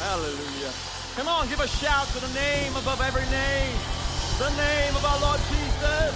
Hallelujah. Come on, give a shout to the name above every name. The name of our Lord Jesus.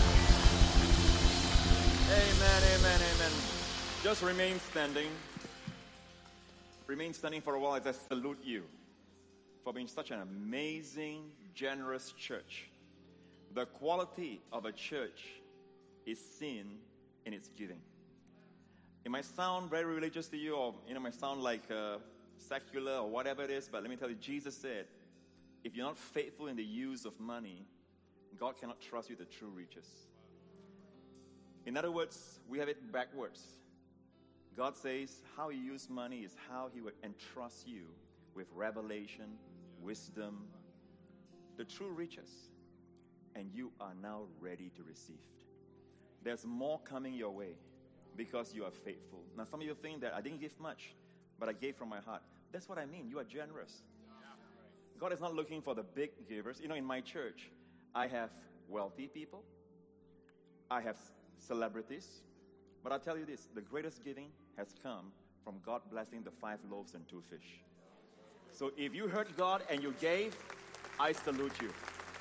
Amen, amen, amen. Just remain standing. Remain standing for a while as I salute you for being such an amazing, generous church. The quality of a church is seen in its giving. It might sound very religious to you, or it might sound like secular or whatever it is, but let me tell you, Jesus said, if you're not faithful in the use of money, God cannot trust you with the true riches. In other words, we have it backwards. God says how you use money is how He would entrust you with revelation, wisdom, the true riches. And you are now ready to receive. There's more coming your way because you are faithful. Now, some of you think that I didn't give much, but I gave from my heart. That's what I mean. You are generous. God is not looking for the big givers. You know, in my church, I have wealthy people. I have celebrities. But I'll tell you this, the greatest giving has come from God blessing the 5 loaves and 2 fish. So if you heard God and you gave, I salute you.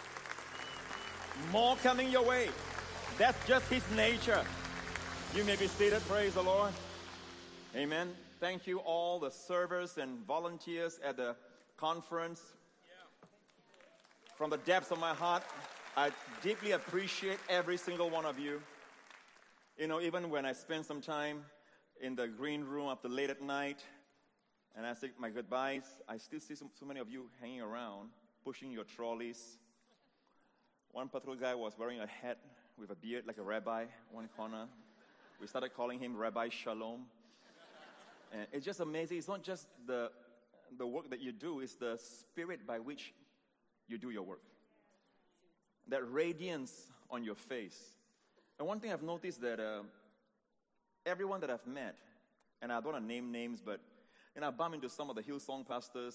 More coming your way. That's just His nature. You may be seated. Praise the Lord. Amen. Thank you all the servers and volunteers at the conference. From the depths of my heart, I deeply appreciate every single one of you. You know, even when I spend some time in the green room up to late at night, and I say my goodbyes, I still see so many of you hanging around, pushing your trolleys. One particular guy was wearing a hat with a beard like a rabbi, one corner. We started calling him Rabbi Shalom. And it's just amazing. It's not just the work that you do, it's the spirit by which you do your work. That radiance on your face. And one thing I've noticed that everyone that I've met, and I don't want to name names, but I bump into some of the Hillsong pastors,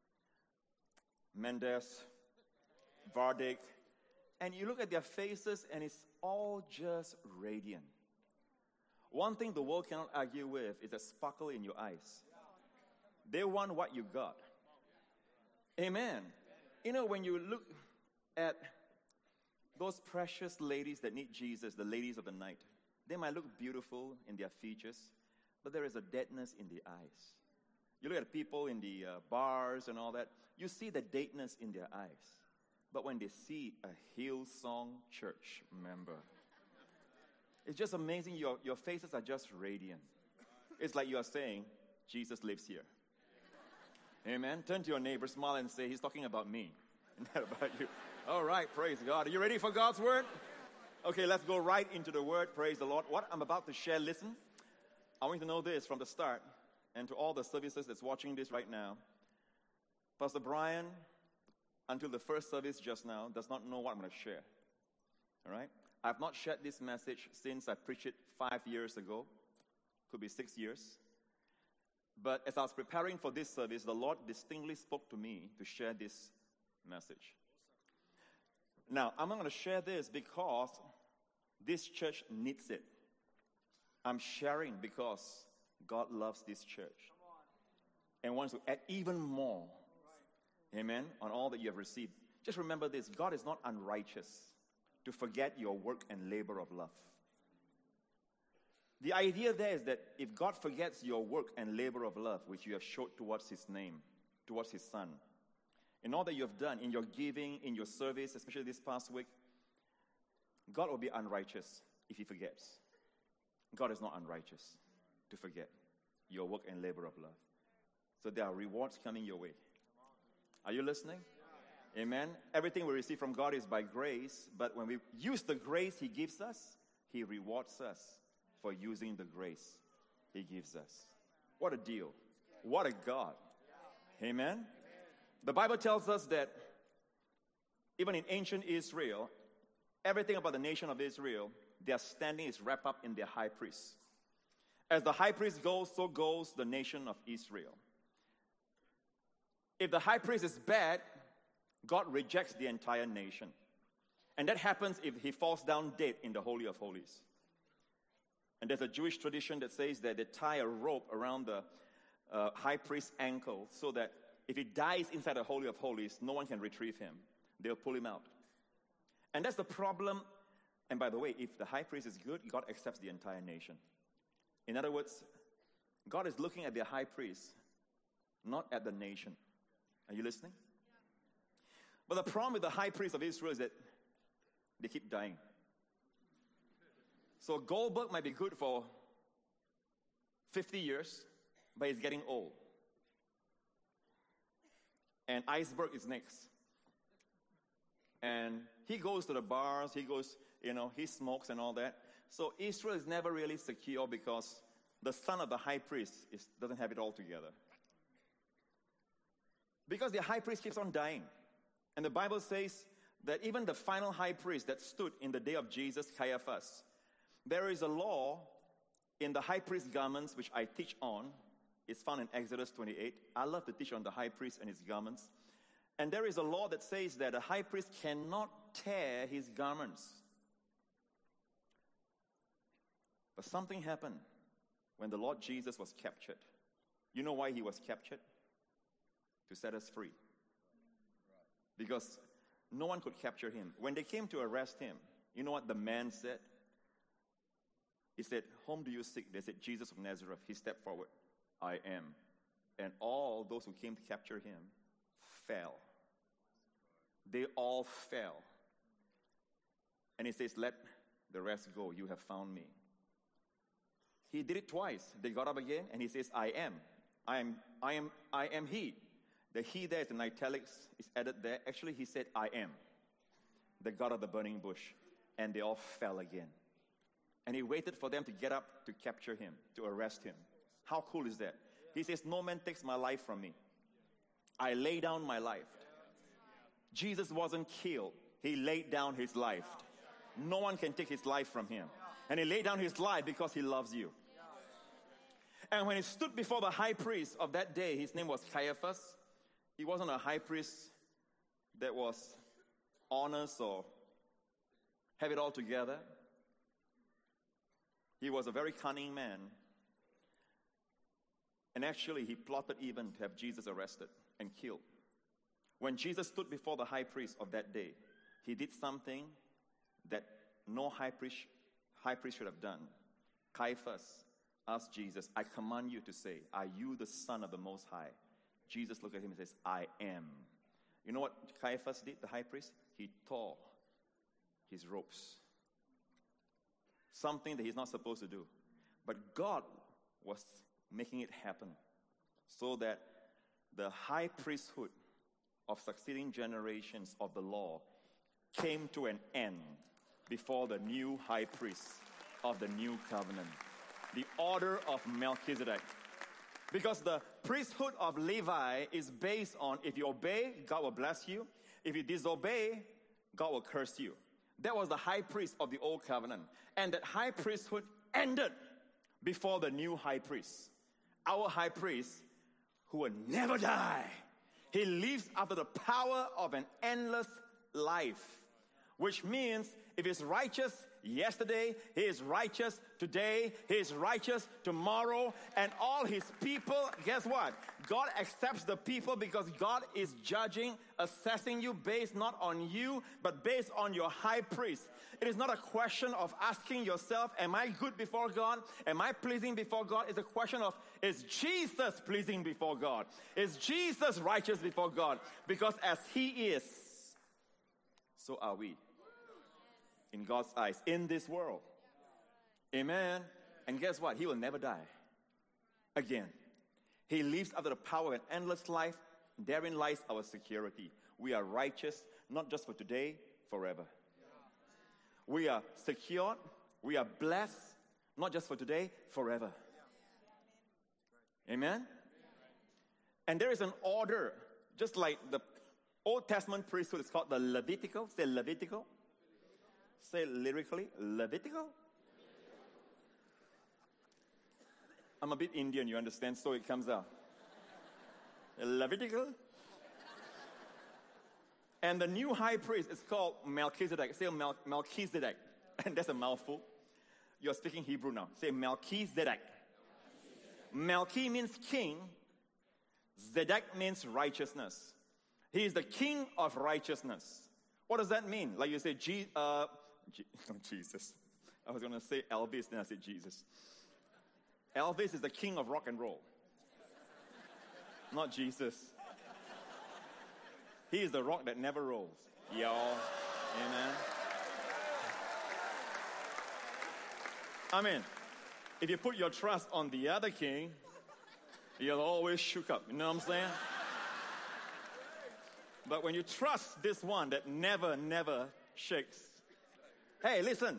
Mendes, Vardick, and you look at their faces and it's all just radiant. One thing the world cannot argue with is the sparkle in your eyes. They want what you got. Amen. You know, when you look at those precious ladies that need Jesus, the ladies of the night, they might look beautiful in their features, but there is a deadness in the eyes. You look at people in the bars and all that, you see the deadness in their eyes. But when they see a Hillsong church member, it's just amazing. Your faces are just radiant. It's like you are saying, Jesus lives here. Amen. Turn to your neighbor, smile and say, He's talking about me, not about you. All right, praise God. Are you ready for God's word? Okay, let's go right into the word. Praise the Lord. What I'm about to share, listen. I want you to know this from the start, and to all the services that's watching this right now. Pastor Brian, until the first service just now, does not know what I'm going to share. All right? I've not shared this message since I preached it 5 years ago. Could be 6 years. But as I was preparing for this service, the Lord distinctly spoke to me to share this message. Now, I'm not going to share this because this church needs it. I'm sharing because God loves this church and wants to add even more, amen, on all that you have received. Just remember this, God is not unrighteous to forget your work and labor of love. The idea there is that if God forgets your work and labor of love, which you have showed towards His name, towards His Son, in all that you have done, in your giving, in your service, especially this past week, God will be unrighteous if He forgets. God is not unrighteous to forget your work and labor of love. So there are rewards coming your way. Are you listening? Amen. Everything we receive from God is by grace, but when we use the grace He gives us, He rewards us for using the grace He gives us. What a deal. What a God. Amen. The Bible tells us that even in ancient Israel, everything about the nation of Israel, their standing is wrapped up in their high priest. As the high priest goes, so goes the nation of Israel. If the high priest is bad, God rejects the entire nation. And that happens if he falls down dead in the Holy of Holies. And there's a Jewish tradition that says that they tie a rope around the high priest's ankle so that If he dies inside the Holy of Holies, no one can retrieve him. They'll pull him out. And that's the problem. And by the way, if the high priest is good, God accepts the entire nation. In other words, God is looking at the high priest, not at the nation. Are you listening? But the problem with the high priest of Israel is that they keep dying. So Goldberg might be good for 50 years, but he's getting old. And Iceberg is next. And he goes to the bars, he smokes and all that. So Israel is never really secure because the son of the high priest doesn't have it all together. Because the high priest keeps on dying. And the Bible says that even the final high priest that stood in the day of Jesus, Caiaphas, there is a law in the high priest garments, which I teach on. It's found in Exodus 28. I love to teach on the high priest and his garments. And there is a law that says that a high priest cannot tear his garments. But something happened when the Lord Jesus was captured. You know why he was captured? To set us free. Because no one could capture him. When they came to arrest him, you know what the man said? He said, "Whom do you seek?" They said, "Jesus of Nazareth." He stepped forward. "I am." And all those who came to capture him fell. They all fell. And he says, "Let the rest go. You have found me." He did it twice. They got up again, and he says, "I am. I am he." The he there is in italics, is added there. Actually, he said, "I am the God of the burning bush." And they all fell again. And he waited for them to get up to capture him, to arrest him. How cool is that? He says, "No man takes my life from me. I lay down my life." Jesus wasn't killed. He laid down his life. No one can take his life from him. And he laid down his life because he loves you. And when he stood before the high priest of that day, his name was Caiaphas. He wasn't a high priest that was honest or have it all together. He was a very cunning man. And actually, he plotted even to have Jesus arrested and killed. When Jesus stood before the high priest of that day, he did something that no high priest should have done. Caiaphas asked Jesus, "I command you to say, are you the Son of the Most High?" Jesus looked at him and says, "I am." You know what Caiaphas did, the high priest? He tore his robes. Something that he's not supposed to do. But God was making it happen so that the high priesthood of succeeding generations of the law came to an end before the new high priest of the new covenant, the order of Melchizedek. Because the priesthood of Levi is based on, if you obey, God will bless you. If you disobey, God will curse you. That was the high priest of the old covenant. And that high priesthood ended before the new high priest. Our high priest, who will never die. He lives after the power of an endless life. Which means if he's righteous yesterday, he is righteous today, he is righteous tomorrow, and all his people, guess what? God accepts the people because God is judging, assessing you based not on you, but based on your high priest. It is not a question of asking yourself, am I good before God? Am I pleasing before God? It's a question of, is Jesus pleasing before God? Is Jesus righteous before God? Because as he is, so are we. In God's eyes, in this world. Amen. And guess what? He will never die again. He lives after the power of an endless life. Therein lies our security. We are righteous, not just for today, forever. We are secured. We are blessed, not just for today, forever. Amen. And there is an order, just like the Old Testament priesthood is called the Levitical. Say Levitical. Say lyrically, Levitical. I'm a bit Indian, you understand, so it comes out. Levitical. And the new high priest is called Melchizedek. Say Melchizedek. And that's a mouthful. You're speaking Hebrew now. Say Melchizedek. Melchi means king. Zedek means righteousness. He is the king of righteousness. What does that mean? Like you say, Jesus. I was going to say Elvis, then I said Jesus. Elvis is the king of rock and roll. Not Jesus. He is the rock that never rolls. Y'all. Amen. I mean, if you put your trust on the other king, you'll always shook up. You know what I'm saying? But when you trust this one that never, never shakes. Hey, listen.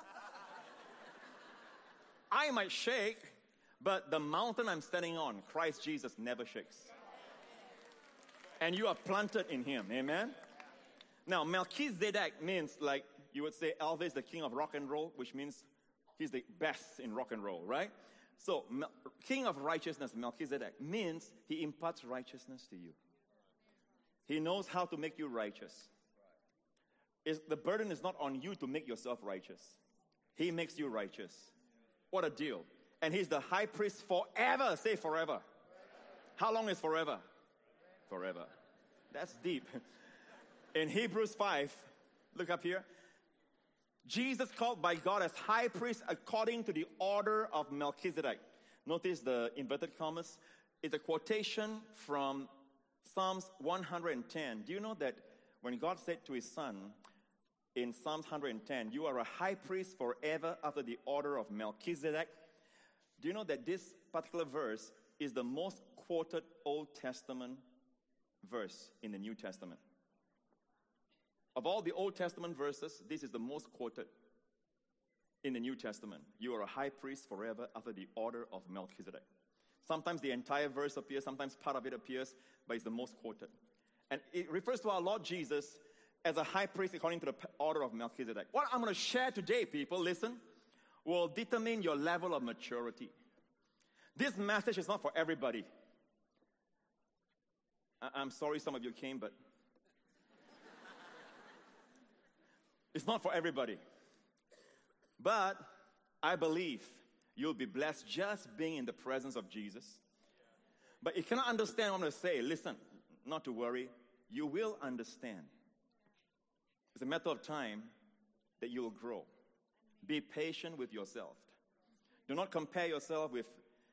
I might shake, but the mountain I'm standing on, Christ Jesus, never shakes. And you are planted in him. Amen? Now, Melchizedek means, like you would say, Elvis, the king of rock and roll, which means he's the best in rock and roll, right? So, king of righteousness, Melchizedek, means he imparts righteousness to you. He knows how to make you righteous. The burden is not on you to make yourself righteous. He makes you righteous. What a deal. And he's the high priest forever. Say forever. How long is forever? Forever. That's deep. In Hebrews 5, look up here. Jesus called by God as high priest according to the order of Melchizedek. Notice the inverted commas. It's a quotation from Psalms 110. Do you know that when God said to his son in Psalms 110, you are a high priest forever after the order of Melchizedek? Do you know that this particular verse is the most quoted Old Testament verse in the New Testament? Of all the Old Testament verses, this is the most quoted in the New Testament. You are a high priest forever after the order of Melchizedek. Sometimes the entire verse appears, sometimes part of it appears, but it's the most quoted. And it refers to our Lord Jesus as a high priest according to the order of Melchizedek. What I'm going to share today, people, listen, will determine your level of maturity. This message is not for everybody. I'm sorry some of you came, but it's not for everybody. But I believe you'll be blessed just being in the presence of Jesus. But you cannot understand what I'm going to say. Listen, not to worry. You will understand. It's a matter of time that you will grow. Be patient with yourself. Do not compare yourself with,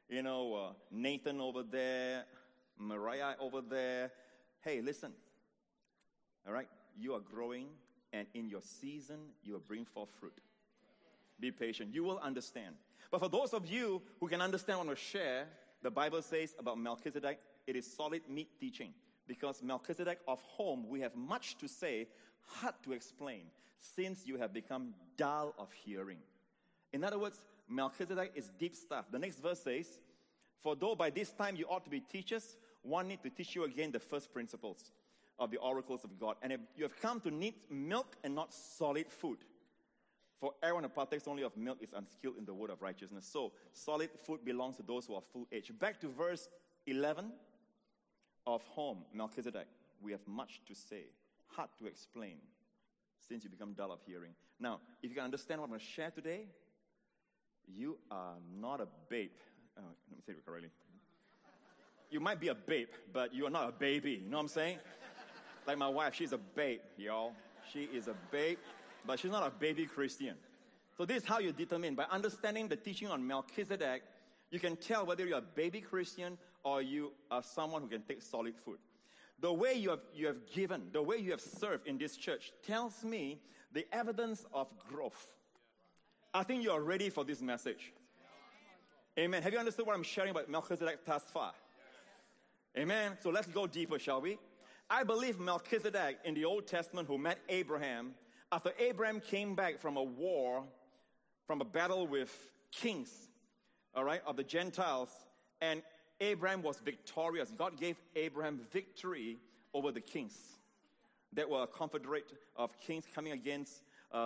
Nathan over there, Mariah over there. Hey, listen. All right? You are growing, and in your season, you will bring forth fruit. Be patient. You will understand. But for those of you who can understand what I'm going to share, the Bible says about Melchizedek, it is solid meat teaching. Because Melchizedek of whom we have much to say, hard to explain, since you have become dull of hearing. In other words, Melchizedek is deep stuff. The next verse says, for though by this time you ought to be teachers, one need to teach you again the first principles of the oracles of God. And if you have come to need milk and not solid food, for everyone who partakes only of milk is unskilled in the word of righteousness. So, solid food belongs to those who are full age. Back to verse 11. Of whom, Melchizedek, we have much to say, hard to explain, since you become dull of hearing. Now, if you can understand what I'm going to share today, you are not a babe. Let me say it correctly. You might be a babe, but you are not a baby. You know what I'm saying? Like my wife, she's a babe, y'all. She is a babe, but she's not a baby Christian. So this is how you determine. By understanding the teaching on Melchizedek, you can tell whether you're a baby Christian or you are someone who can take solid food. The way you have given, the way you have served in this church tells me the evidence of growth. I think you are ready for this message. Amen. Have you understood what I'm sharing about Melchizedek thus far? Amen. So let's go deeper, shall we? I believe Melchizedek in the Old Testament who met Abraham, after Abraham came back from a war, from a battle with kings, all right, of the Gentiles, and Abraham was victorious. God gave Abraham victory over the kings that were a confederate of kings coming against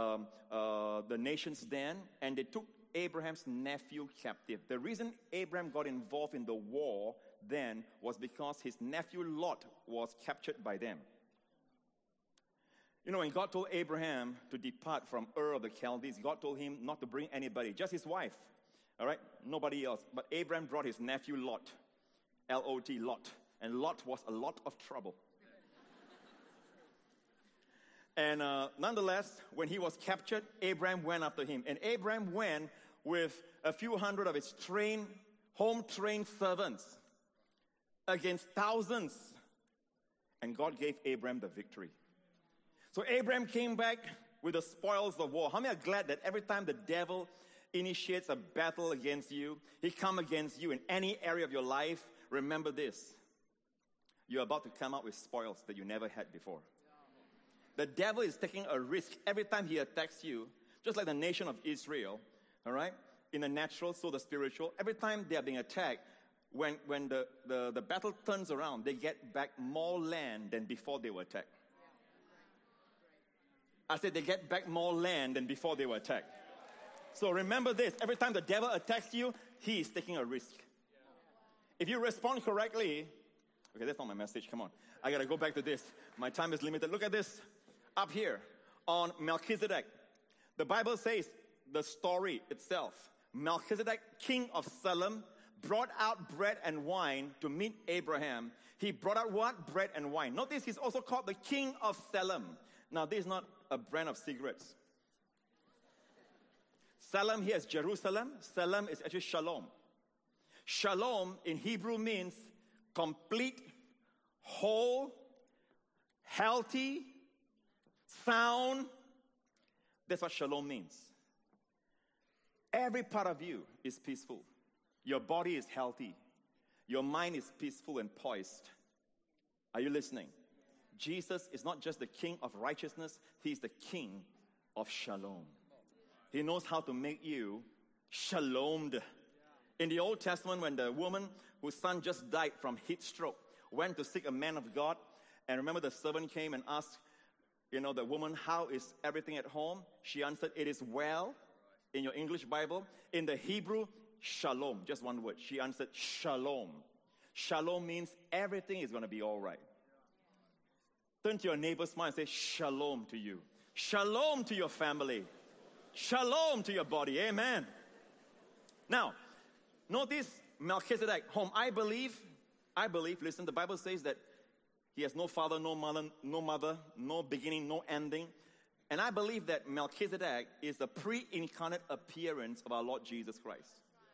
the nations then, and they took Abraham's nephew captive. The reason Abraham got involved in the war then was because his nephew Lot was captured by them. You know, when God told Abraham to depart from Ur of the Chaldees, God told him not to bring anybody, just his wife. All right? Nobody else. But Abraham brought his nephew Lot, L-O-T, Lot. and Lot was a lot of trouble. And nonetheless, when he was captured, Abraham went after him. And Abraham went with a few hundred of his home-trained servants against thousands. And God gave Abraham the victory. So Abraham came back with the spoils of war. How many are glad that every time the devil initiates a battle against you, he comes against you in any area of your life, remember this. You're about to come out with spoils that you never had before. The devil is taking a risk every time he attacks you, just like the nation of Israel, all right? In the natural, so the spiritual. Every time they are being attacked, when the battle turns around, they get back more land than before they were attacked. I said they get back more land than before they were attacked. So remember this, every time the devil attacks you, he is taking a risk. If you respond correctly, okay, that's not my message, come on. I got to go back to this. My time is limited. Look at this up here on Melchizedek. The Bible says the story itself. Melchizedek, king of Salem, brought out bread and wine to meet Abraham. He brought out what? Bread and wine. Notice he's also called the king of Salem. Now, this is not a brand of cigarettes. Salem here is Jerusalem. Salem is actually Shalom. Shalom in Hebrew means complete, whole, healthy, sound. That's what Shalom means. Every part of you is peaceful. Your body is healthy. Your mind is peaceful and poised. Are you listening? Jesus is not just the king of righteousness. He's the king of Shalom. He knows how to make you shalomed. In the Old Testament, when the woman whose son just died from heat stroke went to seek a man of God, and remember the servant came and asked, the woman, how is everything at home? She answered, it is well. In your English Bible, in the Hebrew, shalom, just one word. She answered, shalom. Shalom means everything is going to be all right. Turn to your neighbor's mind and say, shalom to you. Shalom to your family. Shalom to your body. Amen. Now, notice Melchizedek, whom I believe, listen, the Bible says that he has no father, no mother, no beginning, no ending. And I believe that Melchizedek is the pre-incarnate appearance of our Lord Jesus Christ.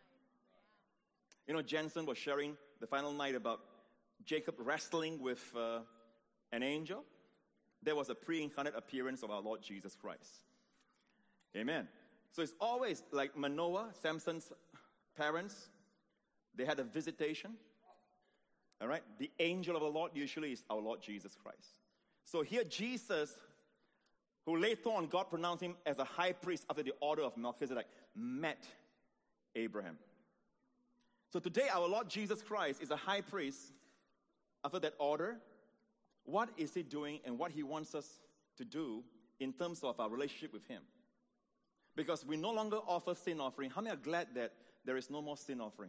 Jensen was sharing the final night about Jacob wrestling with an angel. There was a pre-incarnate appearance of our Lord Jesus Christ. Amen. So it's always like Manoah, Samson's parents, they had a visitation. All right? The angel of the Lord usually is our Lord Jesus Christ. So here Jesus, who later on God pronounced him as a high priest after the order of Melchizedek, met Abraham. So today our Lord Jesus Christ is a high priest after that order. What is he doing and what he wants us to do in terms of our relationship with him? Because we no longer offer sin offering. How many are glad that there is no more sin offering?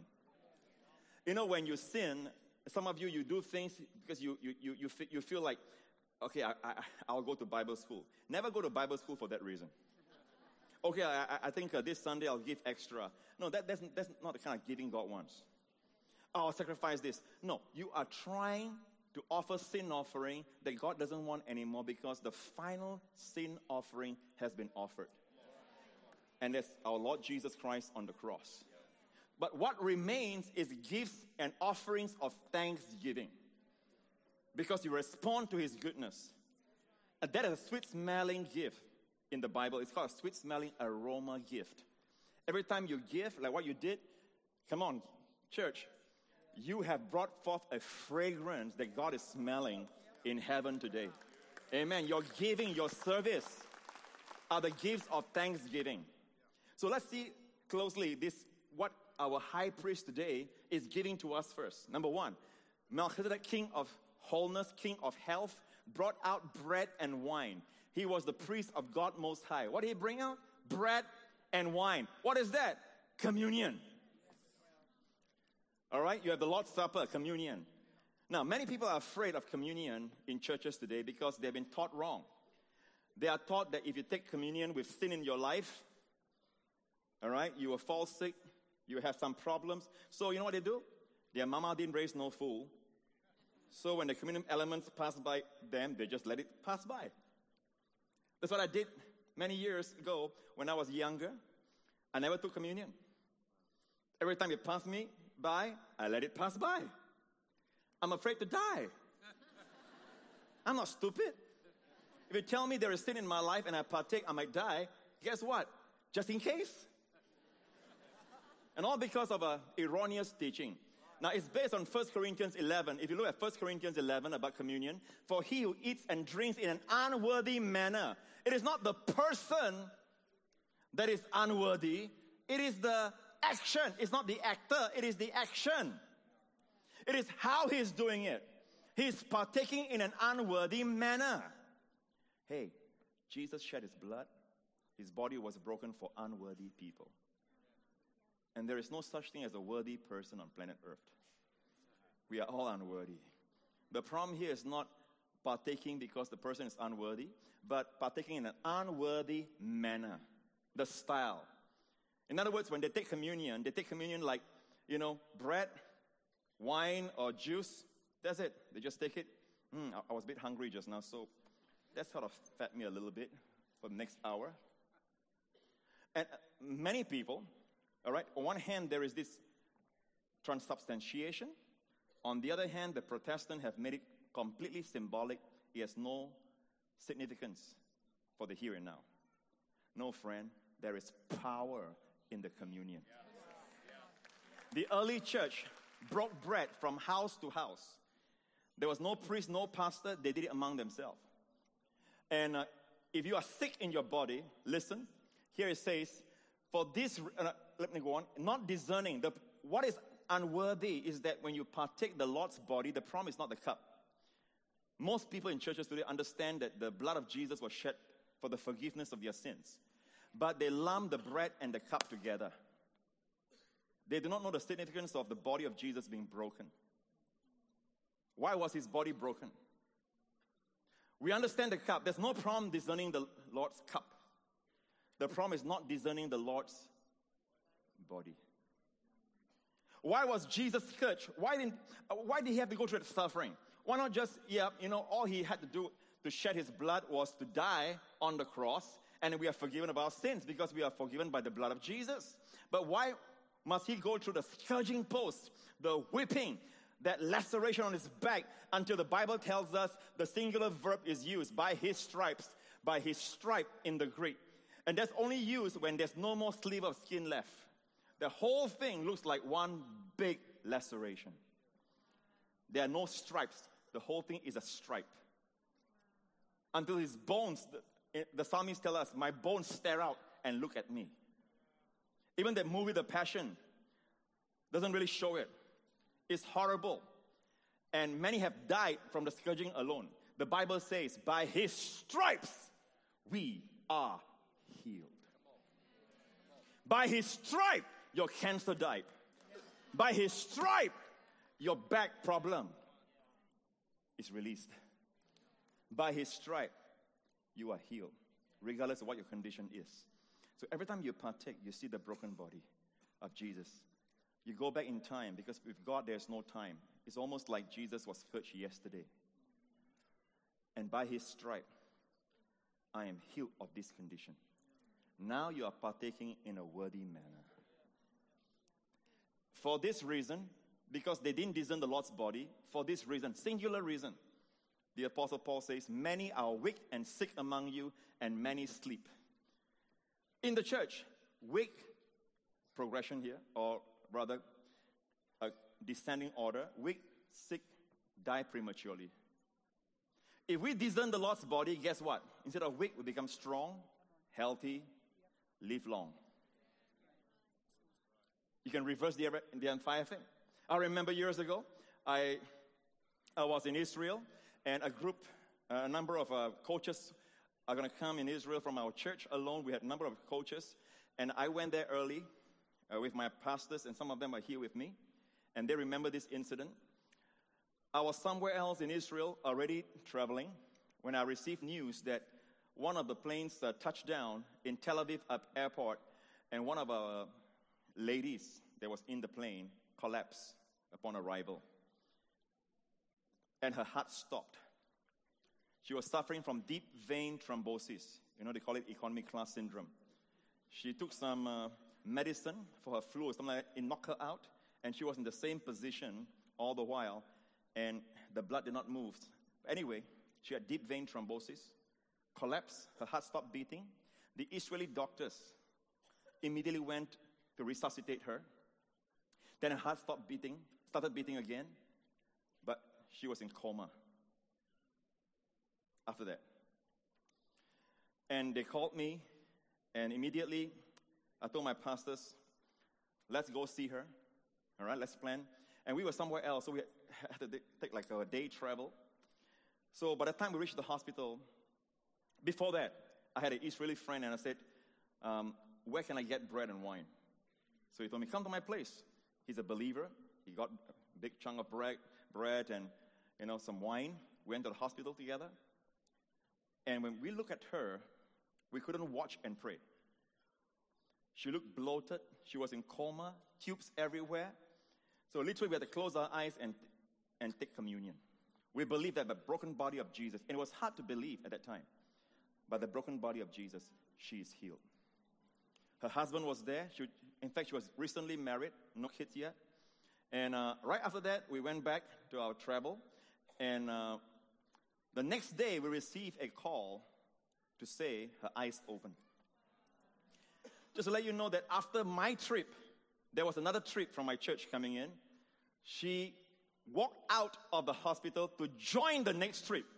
When you sin, some of you do things because you feel like, okay, I'll go to Bible school. Never go to Bible school for that reason. Okay, I think this Sunday I'll give extra. No, that's not the kind of giving God wants. I'll sacrifice this. No, you are trying to offer sin offering that God doesn't want anymore because the final sin offering has been offered. And that's our Lord Jesus Christ on the cross. But what remains is gifts and offerings of thanksgiving. Because you respond to his goodness. And that is a sweet-smelling gift in the Bible. It's called a sweet-smelling aroma gift. Every time you give, like what you did, come on, church, you have brought forth a fragrance that God is smelling in heaven today. Amen. Your giving, your service are the gifts of thanksgiving. So let's see closely what our high priest today is giving to us first. Number one, Melchizedek, king of wholeness, king of health, brought out bread and wine. He was the priest of God Most High. What did he bring out? Bread and wine. What is that? Communion. All right, you have the Lord's Supper, communion. Now, many people are afraid of communion in churches today because they've been taught wrong. They are taught that if you take communion with sin in your life, all right, you will fall sick, you will have some problems. So you know what they do? Their mama didn't raise no fool. So when the communion elements pass by them, they just let it pass by. That's what I did many years ago when I was younger. I never took communion. Every time it passed me by, I let it pass by. I'm afraid to die. I'm not stupid. If you tell me there is sin in my life and I partake, I might die, guess what? Just in case. And all because of an erroneous teaching. Now, it's based on 1 Corinthians 11. If you look at 1 Corinthians 11 about communion, for he who eats and drinks in an unworthy manner, it is not the person that is unworthy, it is the action. It's not the actor, it is the action. It is how he's doing it. He's partaking in an unworthy manner. Hey, Jesus shed his blood. His body was broken for unworthy people. And there is no such thing as a worthy person on planet Earth. We are all unworthy. The problem here is not partaking because the person is unworthy, but partaking in an unworthy manner. The style. In other words, when they take communion like, bread, wine, or juice. That's it. They just take it. I was a bit hungry just now, so that sort of fed me a little bit for the next hour. And many people, all right, on one hand, there is this transubstantiation. On the other hand, the Protestants have made it completely symbolic. It has no significance for the here and now. No, friend, there is power in the communion. The early church broke bread from house to house. There was no priest, no pastor. They did it among themselves. And if you are sick in your body, listen. Here it says, for this, let me go on, not discerning. What is unworthy is that when you partake the Lord's body, the problem is not the cup. Most people in churches today understand that the blood of Jesus was shed for the forgiveness of their sins. But they lump the bread and the cup together. They do not know the significance of the body of Jesus being broken. Why was his body broken? We understand the cup. There's no problem discerning the Lord's cup. The problem is not discerning the Lord's body. Why was Jesus scourged? Why did he have to go through that suffering? Why not just, all he had to do to shed his blood was to die on the cross, and we are forgiven of our sins because we are forgiven by the blood of Jesus. But why must he go through the scourging post, the whipping, that laceration on his back, until the Bible tells us the singular verb is used, by his stripes, by his stripe in the Greek. And that's only used when there's no more sleeve of skin left. The whole thing looks like one big laceration. There are no stripes. The whole thing is a stripe. Until his bones, the psalmist tells us, my bones stare out and look at me. Even that movie, The Passion, doesn't really show it. It's horrible. And many have died from the scourging alone. The Bible says, by his stripes, we are healed. By his stripe, your cancer died. By his stripe, your back problem is released. By his stripe, you are healed, regardless of what your condition is. So every time you partake, you see the broken body of Jesus. You go back in time, because with God there's no time. It's almost like Jesus was scourged yesterday. And by his stripe, I am healed of this condition. Now you are partaking in a worthy manner. For this reason, because they didn't discern the Lord's body, for this reason, singular reason, the Apostle Paul says, many are weak and sick among you, and many sleep. In the church, weak, progression here, or rather, a descending order, weak, sick, die prematurely. If we discern the Lord's body, guess what? Instead of weak, we become strong, healthy, live long. You can reverse the entire thing. I remember years ago, I was in Israel, and a number of coaches are going to come in Israel from our church alone. We had a number of coaches, and I went there early with my pastors, and some of them are here with me, and they remember this incident. I was somewhere else in Israel, already traveling, when I received news that one of the planes touched down in Tel Aviv airport, and one of our ladies that was in the plane collapsed upon arrival. and her heart stopped. She was suffering from deep vein thrombosis. They call it economy class syndrome. She took some medicine for her flu or something like that. It knocked her out, and she was in the same position all the while, and the blood did not move. Anyway, she had deep vein thrombosis, collapsed, her heart stopped beating. The Israeli doctors immediately went to resuscitate her. Then her heart started beating again, but she was in coma after that. And they called me, and immediately I told my pastors, let's go see her. All right, let's plan. And we were somewhere else, so we had to take like a day travel. So by the time we reached the hospital, before that, I had an Israeli friend, and I said, where can I get bread and wine? So he told me, come to my place. He's a believer. He got a big chunk of bread and, some wine. We went to the hospital together. And when we looked at her, we couldn't watch and pray. She looked bloated. She was in coma, tubes everywhere. So literally we had to close our eyes and take communion. We believed that the broken body of Jesus, and it was hard to believe at that time, but the broken body of Jesus, she is healed. Her husband was there. In fact, she was recently married, no kids yet. And right after that, we went back to our travel. And the next day, we received a call to say her eyes opened. Just to let you know that after my trip, there was another trip from my church coming in. She walked out of the hospital to join the next trip.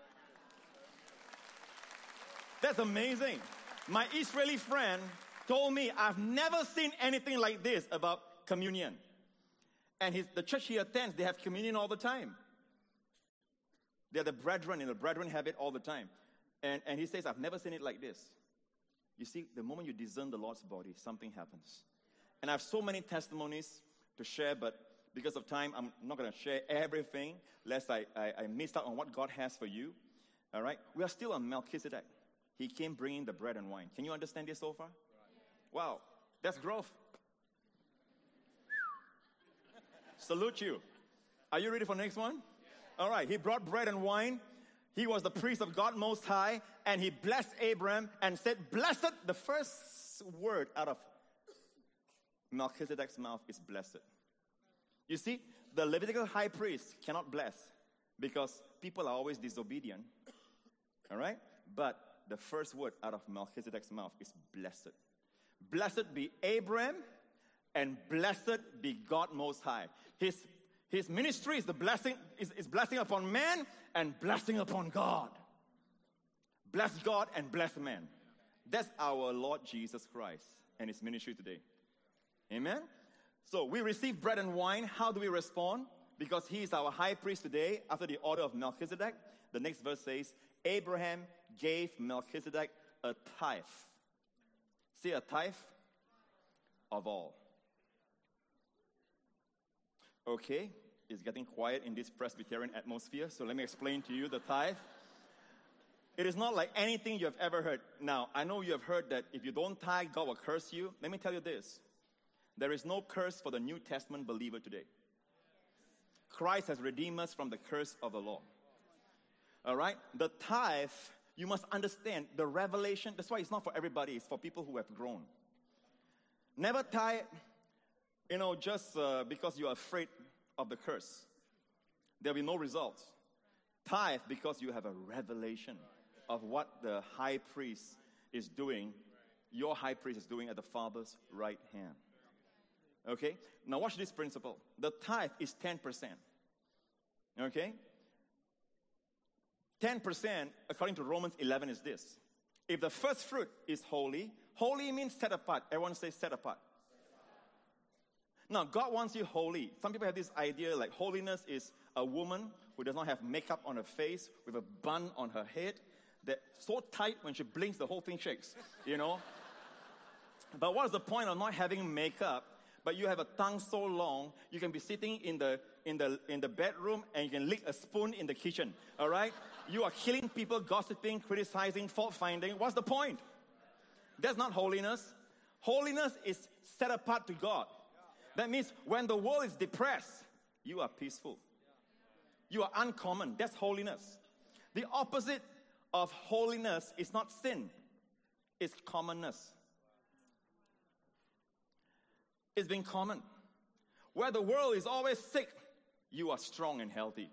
That's amazing. My Israeli friend told me, I've never seen anything like this about communion. And the church he attends, they have communion all the time. They're the brethren, and the brethren have it all the time. And he says, I've never seen it like this. You see, the moment you discern the Lord's body, something happens. And I have so many testimonies to share, but because of time, I'm not going to share everything, lest I miss out on what God has for you. All right? We are still on Melchizedek. He came bringing the bread and wine. Can you understand this so far? Wow, that's growth. Salute you. Are you ready for the next one? All right, he brought bread and wine. He was the priest of God Most High, and he blessed Abraham and said, blessed. The first word out of Melchizedek's mouth is blessed. You see, the Levitical high priest cannot bless because people are always disobedient. All right? But the first word out of Melchizedek's mouth is blessed. Blessed be Abraham, and blessed be God Most High. His ministry is the blessing, is blessing upon man and blessing upon God. Bless God and bless man. That's our Lord Jesus Christ and his ministry today. Amen? So we receive bread and wine. How do we respond? Because he is our high priest today after the order of Melchizedek. The next verse says, Abraham gave Melchizedek a tithe. See, a tithe of all. Okay, it's getting quiet in this Presbyterian atmosphere, so let me explain to you the tithe. It is not like anything you have ever heard. Now, I know you have heard that if you don't tithe, God will curse you. Let me tell you this. There is no curse for the New Testament believer today. Christ has redeemed us from the curse of the law. All right? The tithe, you must understand the revelation. That's why it's not for everybody. It's for people who have grown. Never tithe, just because you're afraid of the curse. There'll be no results. Tithe because you have a revelation of what the high priest is doing. Your high priest is doing at the Father's right hand. Okay? Now watch this principle. The tithe is 10%. Okay? 10%, according to Romans 11, is this. If the first fruit is holy, holy means set apart. Everyone say set apart. Now, God wants you holy. Some people have this idea like holiness is a woman who does not have makeup on her face with a bun on her head that's so tight when she blinks, the whole thing shakes, But what is the point of not having makeup, but you have a tongue so long, you can be sitting in the bedroom and you can lick a spoon in the kitchen, all right? You are killing people, gossiping, criticizing, fault-finding. What's the point? That's not holiness. Holiness is set apart to God. That means when the world is depressed, you are peaceful. You are uncommon. That's holiness. The opposite of holiness is not sin. It's commonness. It's being common. Where the world is always sick, you are strong and healthy.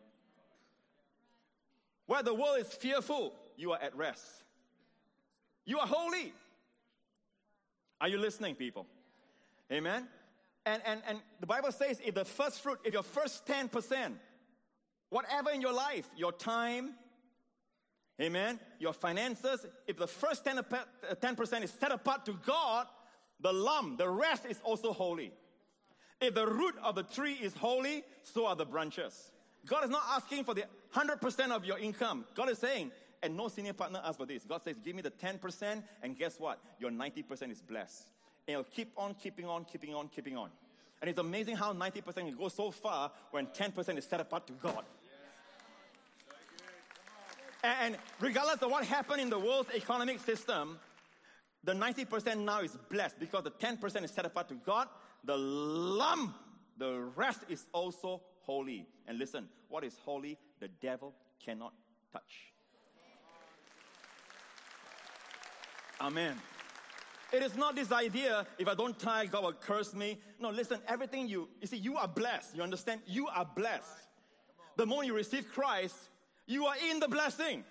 Where the world is fearful, you are at rest. You are holy. Are you listening, people? Amen? And the Bible says if the first fruit, if your first 10%, whatever in your life, your time, amen, your finances, if the first 10% is set apart to God, the rest is also holy. If the root of the tree is holy, so are the branches. God is not asking for the 100% of your income. God is saying, and no senior partner asks for this. God says, give me the 10%, and guess what? Your 90% is blessed. And it'll keep on, keeping on. And it's amazing how 90% can go so far when 10% is set apart to God. And regardless of what happened in the world's economic system, the 90% now is blessed because the 10% is set apart to God. The rest is also holy. And listen, what is holy, the devil cannot touch. Amen. It is not this idea, if I don't tithe, God will curse me. No, listen, everything you see, you are blessed. You understand? You are blessed. The moment you receive Christ, you are in the blessing.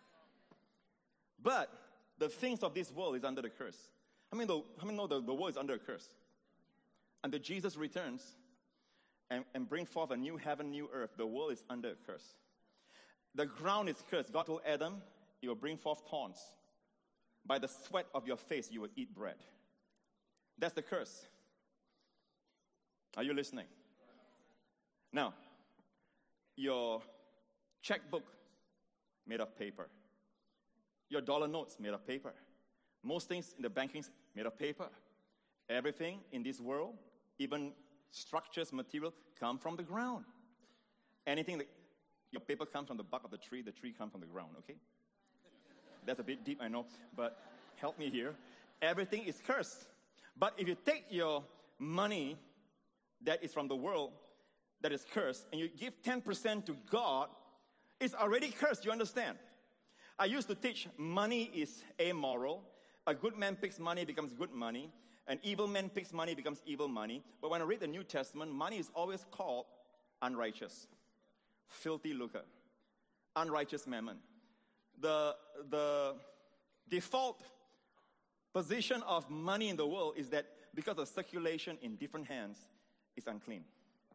But the things of this world is under the curse. How many know the world is under a curse? Until Jesus returns and bring forth a new heaven, new earth, the world is under a curse. The ground is cursed. God told Adam, he will bring forth thorns. By the sweat of your face, you will eat bread. That's the curse. Are you listening? Now, your checkbook made of paper. Your dollar notes made of paper. Most things in the banking's made of paper. Everything in this world, even structures, material, come from the ground. Anything that your paper comes from the bark of the tree comes from the ground, okay? That's a bit deep, I know, but help me here. Everything is cursed. But if you take your money that is from the world, that is cursed, and you give 10% to God, it's already cursed, you understand? I used to teach money is amoral. A good man picks money, becomes good money. An evil man picks money, becomes evil money. But when I read the New Testament, money is always called unrighteous, filthy lucre, unrighteous mammon. The default position of money in the world is that because of circulation in different hands, it's unclean.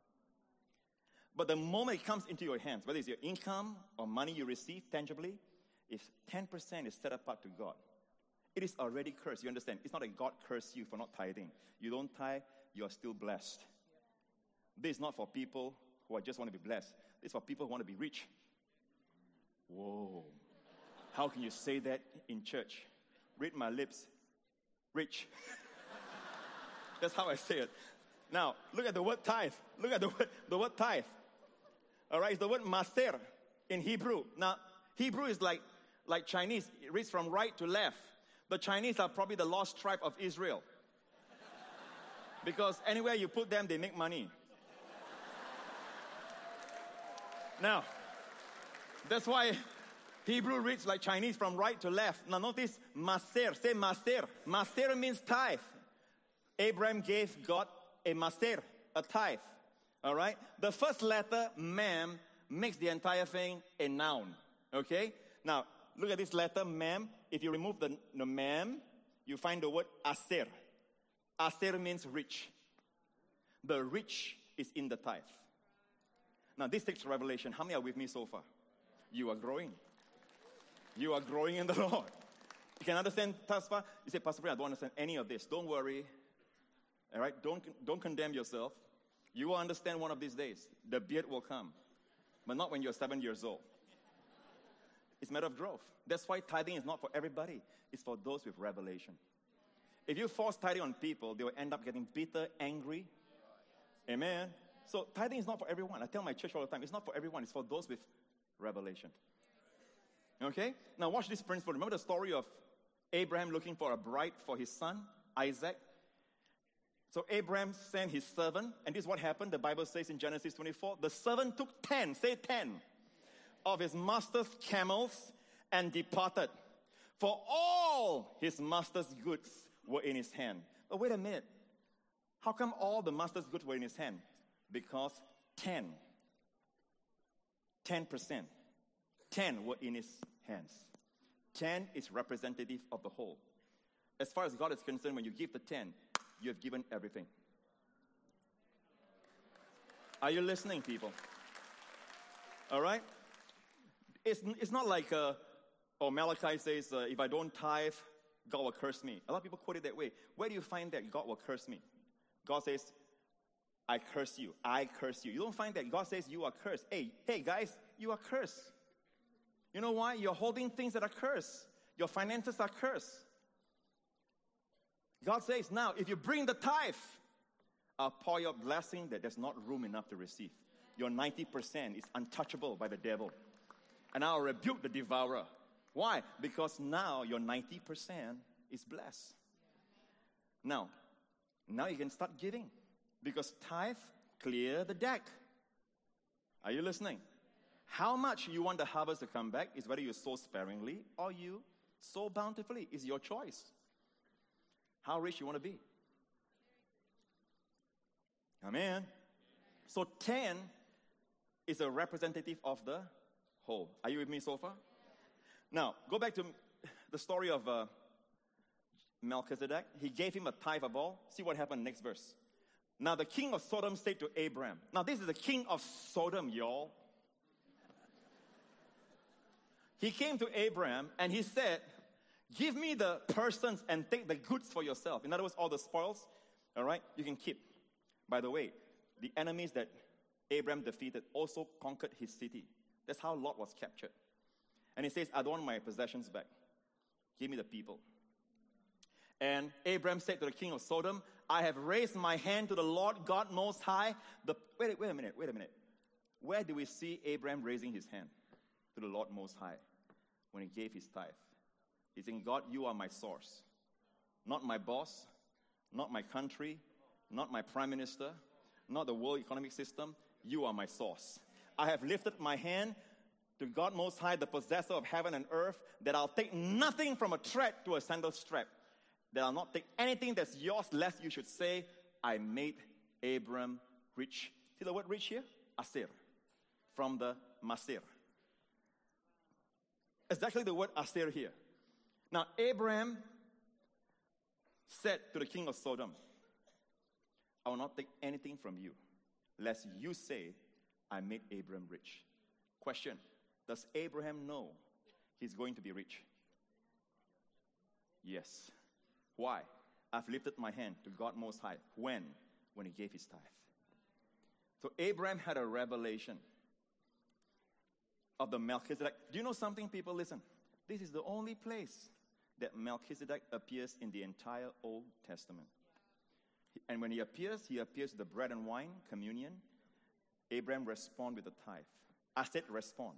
But the moment it comes into your hands, whether it's your income or money you receive tangibly, if 10% is set apart to God, it is already cursed. You understand? It's not that God cursed you for not tithing. You don't tithe, you are still blessed. This is not for people who just want to be blessed. This is for people who want to be rich. Whoa. How can you say that in church? Read my lips. Rich. That's how I say it. Now, look at the word tithe. Look at the word tithe. All right, it's the word maser in Hebrew. Now, Hebrew is like Chinese. It reads from right to left. The Chinese are probably the lost tribe of Israel. Because anywhere you put them, they make money. Now, that's why Hebrew reads like Chinese from right to left. Now notice maser. Say maser. Maser means tithe. Abraham gave God a maser, a tithe. All right? The first letter, mem, makes the entire thing a noun. Okay? Now, look at this letter, mem. If you remove the mem, you find the word aser. Aser means rich. The rich is in the tithe. Now, this takes revelation. How many are with me so far? You are growing. You are growing in the Lord. You can understand, Tasfa? You say, Pastor Brian, I don't understand any of this. Don't worry. All right? Don't condemn yourself. You will understand one of these days. The beard will come. But not when you're 7 years old. It's a matter of growth. That's why tithing is not for everybody. It's for those with revelation. If you force tithing on people, they will end up getting bitter, angry. Amen. So tithing is not for everyone. I tell my church all the time, it's not for everyone. It's for those with revelation. Okay? Now watch this principle. Remember the story of Abraham looking for a bride for his son, Isaac? So Abraham sent his servant, and this is what happened. The Bible says in Genesis 24, the servant took 10, say 10, of his master's camels and departed. For all his master's goods were in his hand. But wait a minute. How come all the master's goods were in his hand? Because 10% were in his hands. 10 is representative of the whole. As far as God is concerned, when you give the 10, you have given everything. Are you listening, people? All right? It's not like, Malachi says, if I don't tithe, God will curse me. A lot of people quote it that way. Where do you find that God will curse me? God says, I curse you. I curse you. You don't find that. God says you are cursed. Hey guys, you are cursed. You know why? You're holding things that are cursed. Your finances are cursed. God says, now, if you bring the tithe, I'll pour your blessing that there's not room enough to receive. Your 90% is untouchable by the devil. And I'll rebuke the devourer. Why? Because now your 90% is blessed. Now you can start giving. Because tithe clear the deck. Are you listening? How much you want the harvest to come back is whether you sow sparingly or you sow bountifully. It's your choice. How rich you want to be. Amen. So 10 is a representative of the whole. Are you with me so far? Now, go back to the story of Melchizedek. He gave him a tithe of all. See what happened next verse. Now the king of Sodom said to Abraham. Now this is the king of Sodom, y'all. He came to Abraham and he said, give me the persons and take the goods for yourself. In other words, all the spoils, all right, you can keep. By the way, the enemies that Abraham defeated also conquered his city. That's how Lot was captured. And he says, I don't want my possessions back. Give me the people. And Abraham said to the king of Sodom, I have raised my hand to the Lord God Most High. Wait a minute. Where do we see Abraham raising his hand to the Lord Most High when he gave his tithe? He's saying, God, you are my source. Not my boss, not my country, not my prime minister, not the world economic system. You are my source. I have lifted my hand to God Most High, the possessor of heaven and earth, that I'll take nothing from a thread to a sandal strap. That I'll not take anything that's yours, lest you should say, I made Abram rich. See the word rich here? Asir. From the Masir. Exactly the word Asir here. Now, Abraham said to the king of Sodom, I will not take anything from you, lest you say, I made Abram rich. Question, does Abraham know he's going to be rich? Yes. Why? I've lifted my hand to God Most High. When? When he gave his tithe. So Abraham had a revelation of the Melchizedek. Do you know something, people? Listen. This is the only place that Melchizedek appears in the entire Old Testament. And when he appears with the bread and wine, communion. Abraham responds with a tithe. I said respond.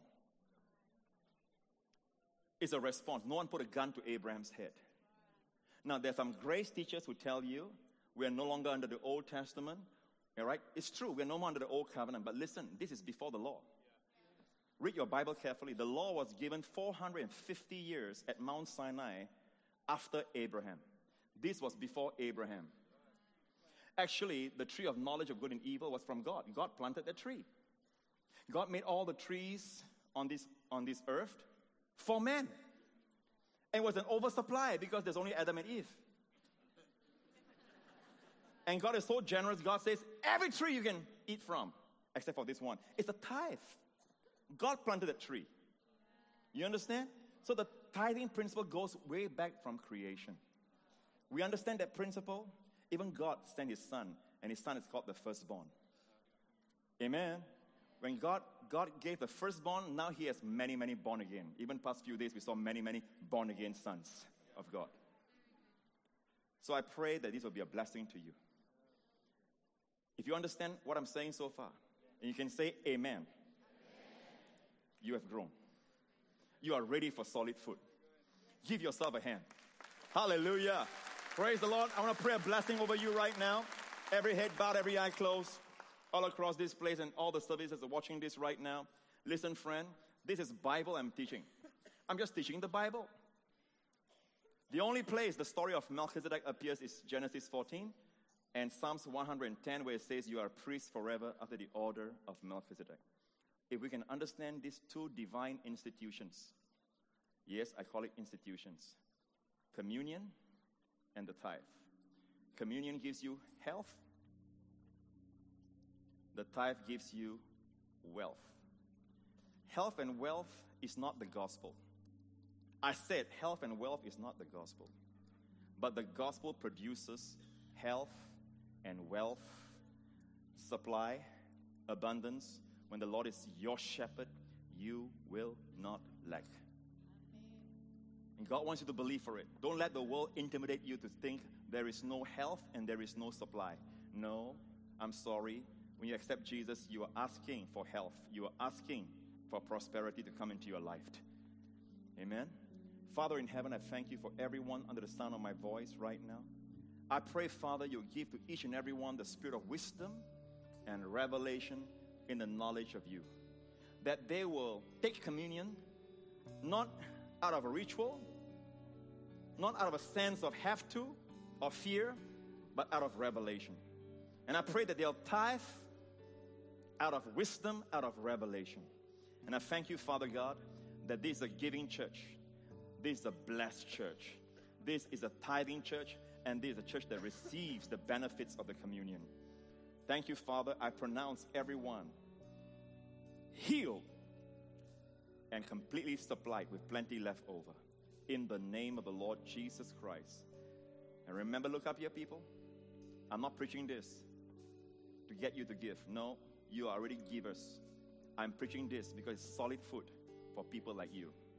It's a response. No one put a gun to Abraham's head. Now, there's some grace teachers who tell you we are no longer under the Old Testament. All right? It's true, we're no more under the Old Covenant. But listen, this is before the law. Read your Bible carefully. The law was given 450 years at Mount Sinai after Abraham. This was before Abraham. Actually, the tree of knowledge of good and evil was from God. God planted the tree. God made all the trees on this earth for man. And it was an oversupply because there's only Adam and Eve. And God is so generous, God says, every tree you can eat from, except for this one. It's a tithe. God planted a tree. You understand? So the tithing principle goes way back from creation. We understand that principle. Even God sent his son, and his son is called the firstborn. Amen. When God gave the firstborn, now he has many, many born again. Even past few days, we saw many, many born again sons of God. So I pray that this will be a blessing to you. If you understand what I'm saying so far, and you can say amen, you have grown. You are ready for solid food. Give yourself a hand. Hallelujah. Praise the Lord. I want to pray a blessing over you right now. Every head bowed, every eye closed, all across this place and all the services are watching this right now. Listen, friend, this is Bible I'm teaching. I'm just teaching the Bible. The only place the story of Melchizedek appears is Genesis 14 and Psalms 110, where it says, you are a priest forever after the order of Melchizedek. If we can understand these two divine institutions, yes, I call it institutions, communion and the tithe. Communion gives you health. The tithe gives you wealth. Health and wealth is not the gospel. I said health and wealth is not the gospel. But the gospel produces health and wealth, supply, abundance. When the Lord is your shepherd, you will not lack. And God wants you to believe for it. Don't let the world intimidate you to think there is no health and there is no supply. No, I'm sorry. When you accept Jesus, you are asking for health. You are asking for prosperity to come into your life. Amen? Father in heaven, I thank you for everyone under the sound of my voice right now. I pray, Father, you'll give to each and every one the spirit of wisdom and revelation in the knowledge of you. That they will take communion not out of a ritual, not out of a sense of have to or fear, but out of revelation. And I pray that they'll tithe out of wisdom, out of revelation. And I thank you, Father God, that this is a giving church. This is a blessed church. This is a tithing church, and this is a church that receives the benefits of the communion. Thank you, Father. I pronounce everyone healed and completely supplied with plenty left over. In the name of the Lord Jesus Christ. And remember, look up here, people. I'm not preaching this to get you to give. No, you are already givers. I'm preaching this because it's solid food for people like you.